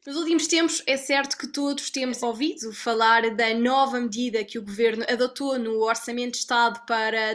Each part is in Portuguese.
Nos últimos tempos, é certo que todos temos ouvido falar da nova medida que o Governo adotou no Orçamento de Estado para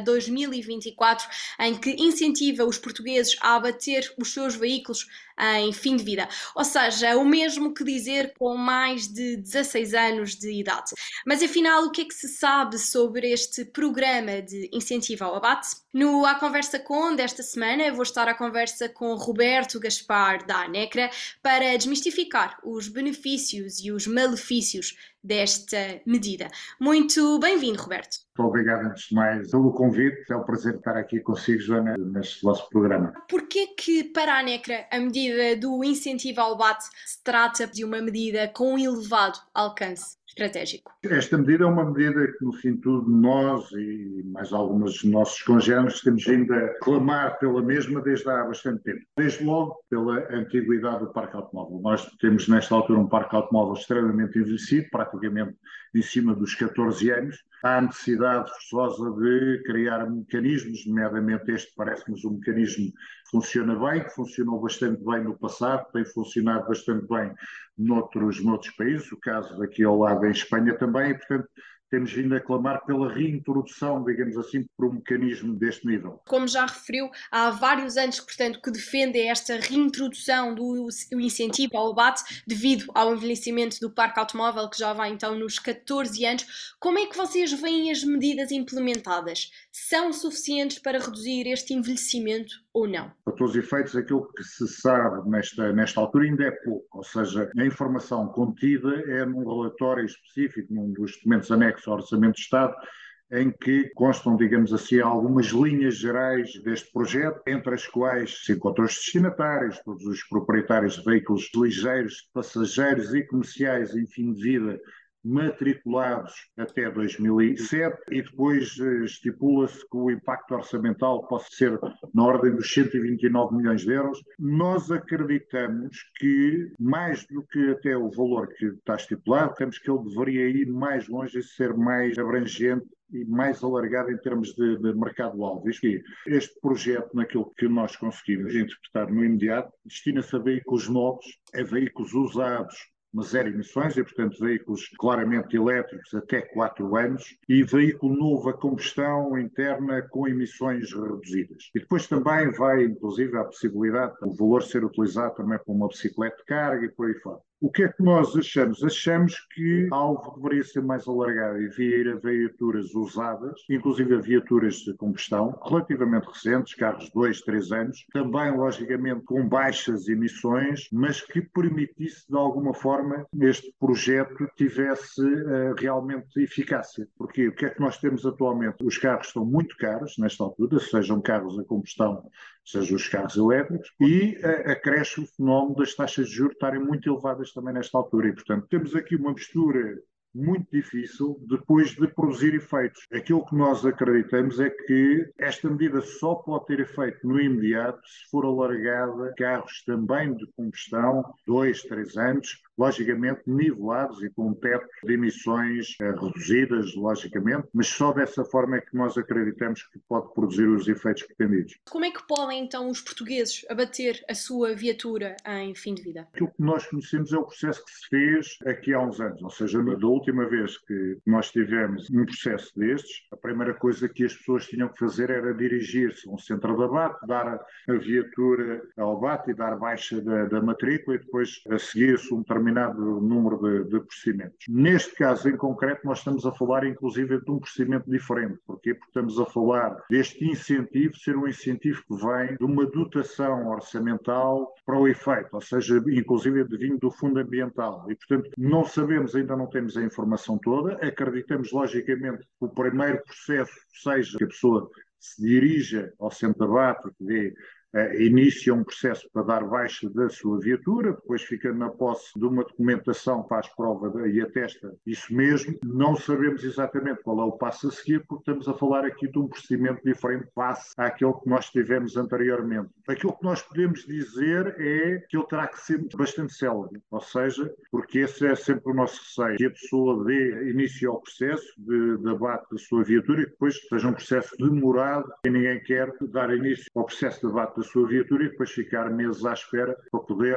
2024, em que incentiva os portugueses a abater os seus veículos em fim de vida. Ou seja, o mesmo que dizer com mais de 16 anos de idade. Mas afinal, o que é que se sabe sobre este programa de incentivo ao abate? No A Conversa Com desta semana, vou estar à conversa com Roberto Gaspar da ANECRA para desmistificar os benefícios e os malefícios desta medida. Muito bem-vindo, Roberto. Muito obrigado, antes de mais, pelo convite. É um prazer estar aqui consigo, Joana, neste vosso programa. Porquê que, para a ANECRA, a medida do incentivo ao abate se trata de uma medida com um elevado alcance estratégico? Esta medida é uma medida que, no fim de tudo, nós e mais alguns dos nossos congêneres temos vindo a clamar pela mesma desde há bastante tempo. Desde logo, pela antiguidade do parque automóvel. Nós temos, nesta altura, um parque automóvel extremamente envelhecido, praticamente em cima dos 14 anos. Há a necessidade forçosa de criar mecanismos, nomeadamente este parece-nos um mecanismo que funciona bem, que funcionou bastante bem no passado, tem funcionado bastante bem noutros países, o caso daqui ao lado em Espanha também, e portanto temos vindo a clamar pela reintrodução, digamos assim, por um mecanismo deste nível. Como já referiu, há vários anos, portanto, que defende esta reintrodução do incentivo ao abate devido ao envelhecimento do parque automóvel, que já vai então nos 14 anos. Como é que vocês veem as medidas implementadas? São suficientes para reduzir este envelhecimento ou não? Para todos os efeitos, aquilo que se sabe nesta altura ainda é pouco, ou seja, a informação contida é num relatório específico, num dos documentos anexos ao Orçamento de Estado, em que constam, digamos assim, algumas linhas gerais deste projeto, entre as quais se encontram os destinatários, todos os proprietários de veículos ligeiros, passageiros e comerciais em fim de vida, matriculados até 2007 e depois estipula-se que o impacto orçamental possa ser na ordem dos 129 milhões de euros. Nós acreditamos que, mais do que até o valor que está estipulado, temos que ele deveria ir mais longe e ser mais abrangente e mais alargado em termos de mercado-alvo. Este projeto, naquilo que nós conseguimos interpretar no imediato, destina-se a veículos novos, a veículos usados, mas zero emissões e, portanto, veículos claramente elétricos até 4 anos e veículo novo a combustão interna com emissões reduzidas. E depois também vai, inclusive, a possibilidade do valor ser utilizado também para uma bicicleta de carga e por aí fora. O que é que nós achamos? Achamos que algo deveria ser mais alargado e vir a viaturas usadas, inclusive a viaturas de combustão, relativamente recentes, carros de 2, 3 anos, também, logicamente, com baixas emissões, mas que permitisse, de alguma forma, este projeto tivesse realmente eficácia. Porque o que é que nós temos atualmente? Os carros estão muito caros, nesta altura, sejam carros a combustão, sejam os carros elétricos, e acresce o fenómeno das taxas de juros estarem muito elevadas também nesta altura. E, portanto, temos aqui uma mistura muito difícil depois de produzir efeitos. Aquilo que nós acreditamos é que esta medida só pode ter efeito no imediato se for alargada a carros também de combustão, 2, 3 anos, logicamente nivelados e com um teto de emissões reduzidas, logicamente, mas só dessa forma é que nós acreditamos que pode produzir os efeitos pretendidos. Como é que podem então os portugueses abater a sua viatura em fim de vida? Aquilo que nós conhecemos é o processo que se fez aqui há uns anos, ou seja, da última vez que nós tivemos um processo destes, a primeira coisa que as pessoas tinham que fazer era dirigir-se a um centro de abate, dar a viatura ao abate e dar baixa da matrícula e depois a seguir-se um determinado número de procedimentos. Neste caso em concreto, nós estamos a falar inclusive de um procedimento diferente. Porquê? Porque estamos a falar deste incentivo ser um incentivo que vem de uma dotação orçamental para o efeito, ou seja, inclusive vindo do Fundo Ambiental. E, portanto, não sabemos, ainda não temos a informação toda. Acreditamos, logicamente, que o primeiro processo seja que a pessoa se dirija ao centro de abate, que dê inicia um processo para dar baixa da sua viatura, depois fica na posse de uma documentação, faz prova e atesta isso mesmo. Não sabemos exatamente qual é o passo a seguir, porque estamos a falar aqui de um procedimento diferente face àquele que nós tivemos anteriormente. Aquilo que nós podemos dizer é que ele terá que ser bastante célere, ou seja, porque esse é sempre o nosso receio, que a pessoa dê início ao processo de abate da sua viatura e depois seja um processo demorado e ninguém quer dar início ao processo de abate da sua viatura e depois ficar meses à espera para poder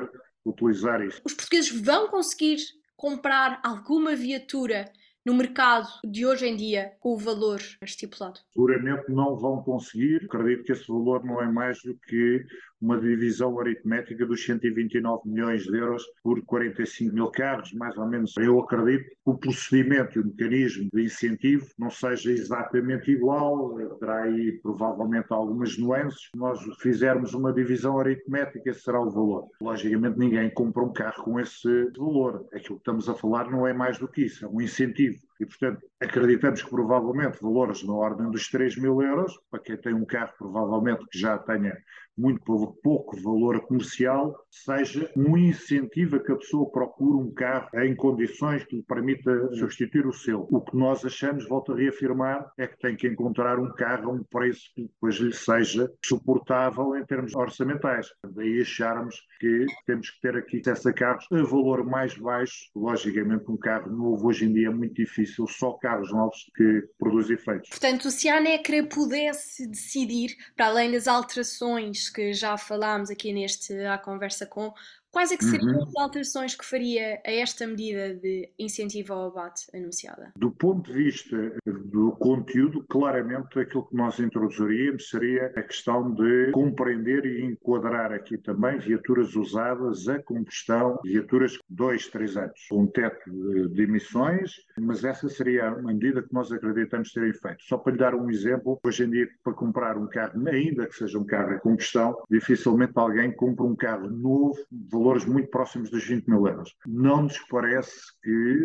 utilizar isso. Os portugueses vão conseguir comprar alguma viatura no mercado de hoje em dia com o valor estipulado? Seguramente não vão conseguir. Acredito que esse valor não é mais do que uma divisão aritmética dos 129 milhões de euros por 45 mil carros, mais ou menos. Eu acredito que o procedimento e o mecanismo de incentivo não seja exatamente igual, terá aí provavelmente algumas nuances. Se nós fizermos uma divisão aritmética, esse será o valor. Logicamente ninguém compra um carro com esse valor. Aquilo que estamos a falar não é mais do que isso, é um incentivo. E, portanto, acreditamos que provavelmente valores na ordem dos 3 mil euros, para quem tem um carro provavelmente que já tenha muito pouco valor comercial, seja um incentivo a que a pessoa procure um carro em condições que lhe permita substituir o seu. O que nós achamos, volto a reafirmar, é que tem que encontrar um carro a um preço que depois lhe seja suportável em termos orçamentais. Daí acharmos que temos que ter aqui acesso a carros a valor mais baixo. Logicamente, um carro novo hoje em dia é muito difícil, só carros novos que produzem efeitos. Portanto, se a ANECRA pudesse decidir, para além das alterações que já falámos aqui à conversa com, quais é que seriam as alterações que faria a esta medida de incentivo ao abate anunciada? Do ponto de vista do conteúdo, claramente aquilo que nós introduziríamos seria a questão de compreender e enquadrar aqui também viaturas usadas a combustão, viaturas de 2, 3 anos, com um teto de emissões, mas essa seria a medida que nós acreditamos ter efeito. Só para lhe dar um exemplo, hoje em dia, para comprar um carro, ainda que seja um carro a combustão, dificilmente alguém compra um carro novo, valores muito próximos dos 20 mil euros. Não nos parece que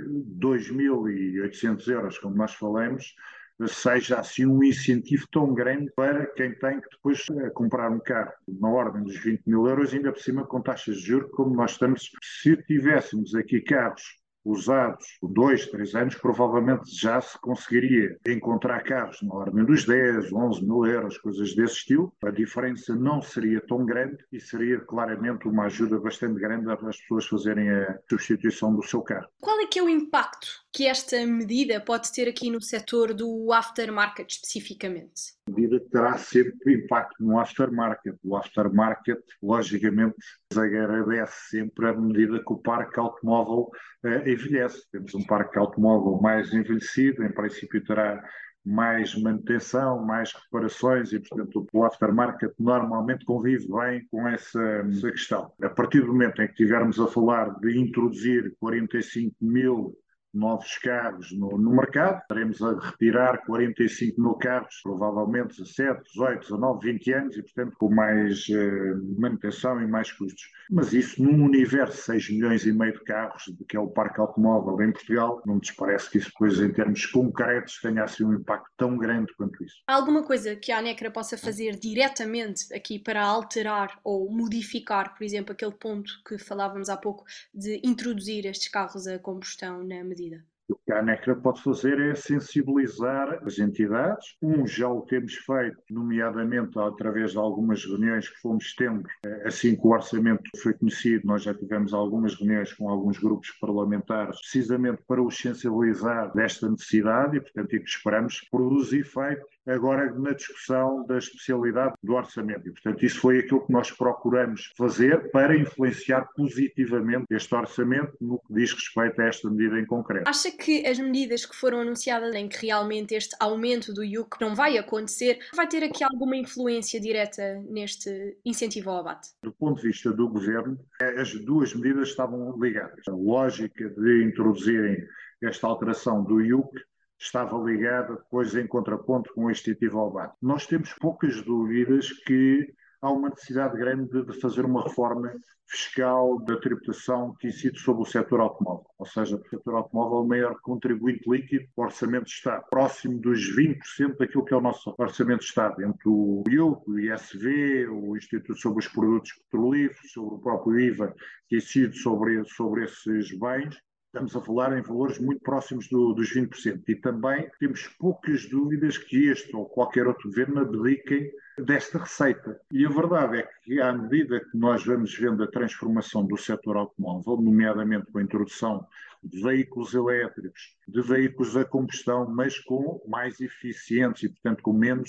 2.800 euros, como nós falamos, seja assim um incentivo tão grande para quem tem que depois comprar um carro na ordem dos 20 mil euros, ainda por cima com taxas de juros, como nós estamos. Se tivéssemos aqui carros usados por 2, 3 anos, provavelmente já se conseguiria encontrar carros na ordem dos 10, 11 mil euros, coisas desse estilo. A diferença não seria tão grande e seria claramente uma ajuda bastante grande às pessoas fazerem a substituição do seu carro. Qual é que é o impacto que esta medida pode ter aqui no setor do aftermarket especificamente? A medida terá sempre impacto no aftermarket. O aftermarket, logicamente, agradece sempre à medida que o parque automóvel envelhece. Temos um parque automóvel mais envelhecido, em princípio terá mais manutenção, mais reparações e, portanto, o aftermarket normalmente convive bem com essa questão. A partir do momento em que estivermos a falar de introduzir 45 mil novos carros no mercado, estaremos a retirar 45 mil carros, provavelmente 17, 18, 19, 20 anos e, portanto, com mais manutenção e mais custos. Mas isso, num universo de 6 milhões e meio de carros, que é o parque automóvel em Portugal, não nos parece que isso depois, em termos concretos, tenha assim um impacto tão grande quanto isso. Há alguma coisa que a ANECRA possa fazer diretamente aqui para alterar ou modificar, por exemplo, aquele ponto que falávamos há pouco de introduzir estes carros a combustão na medida? O que a ANECRA pode fazer é sensibilizar as entidades. Já o temos feito, nomeadamente através de algumas reuniões que fomos tendo. Assim que o orçamento foi conhecido, nós já tivemos algumas reuniões com alguns grupos parlamentares, precisamente para os sensibilizar desta necessidade e, portanto, é que esperamos que produza efeito agora na discussão da especialidade do orçamento. E, portanto, isso foi aquilo que nós procuramos fazer para influenciar positivamente este orçamento no que diz respeito a esta medida em concreto. Acha que as medidas que foram anunciadas em que realmente este aumento do IUC não vai acontecer, vai ter aqui alguma influência direta neste incentivo ao abate? Do ponto de vista do governo, as duas medidas estavam ligadas. A lógica de introduzirem esta alteração do IUC estava ligada depois em contraponto com o incentivo ao abate. Nós temos poucas dúvidas que há uma necessidade grande de fazer uma reforma fiscal da tributação que incide sobre o setor automóvel. Ou seja, o setor automóvel é o maior contribuinte líquido do orçamento de Estado, próximo dos 20% daquilo que é o nosso orçamento de Estado, entre o IUC, o ISV, o Instituto sobre os Produtos Petrolíferos, sobre o próprio IVA que incide sobre esses bens. Estamos a falar em valores muito próximos dos 20%. E também temos poucas dúvidas que este ou qualquer outro governo abdiquem desta receita. E a verdade é que, à medida que nós vamos vendo a transformação do setor automóvel, nomeadamente com a introdução de veículos elétricos, de veículos a combustão, mas com mais eficientes e, portanto, com menos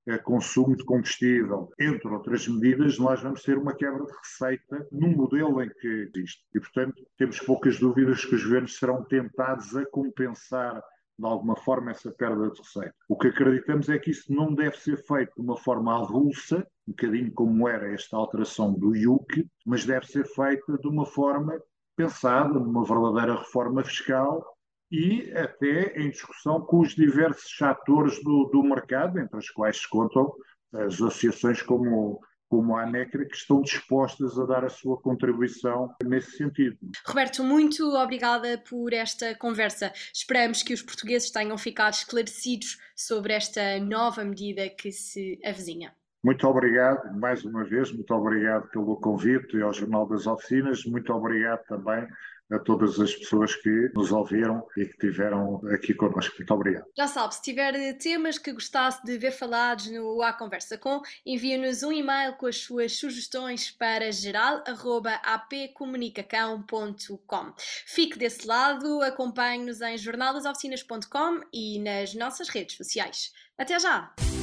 consumo de combustível, entre outras medidas, nós vamos ter uma quebra de receita num modelo em que existe. E, portanto, temos poucas dúvidas que os governos serão tentados a compensar de alguma forma essa perda de receita. O que acreditamos é que isso não deve ser feito de uma forma avulsa, um bocadinho como era esta alteração do IUC, mas deve ser feita de uma forma pensada, numa verdadeira reforma fiscal e até em discussão com os diversos atores do mercado, entre os quais se contam as associações como a ANECRA, que estão dispostas a dar a sua contribuição nesse sentido. Roberto, muito obrigada por esta conversa. Esperamos que os portugueses tenham ficado esclarecidos sobre esta nova medida que se avizinha. Muito obrigado, mais uma vez, muito obrigado pelo convite ao Jornal das Oficinas, muito obrigado também a todas as pessoas que nos ouviram e que estiveram aqui connosco. Muito obrigado. Já sabe, se tiver temas que gostasse de ver falados no A Conversa Com, envie-nos um e-mail com as suas sugestões para geral@apcomunicacão.com. Fique desse lado, acompanhe-nos em jornaldasoficinas.com e nas nossas redes sociais. Até já!